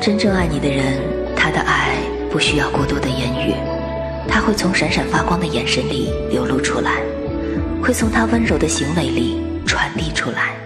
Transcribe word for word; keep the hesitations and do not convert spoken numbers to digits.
真正爱你的人，他的爱不需要过多的言语，他会从闪闪发光的眼神里流露出来，会从他温柔的行为里传递出来。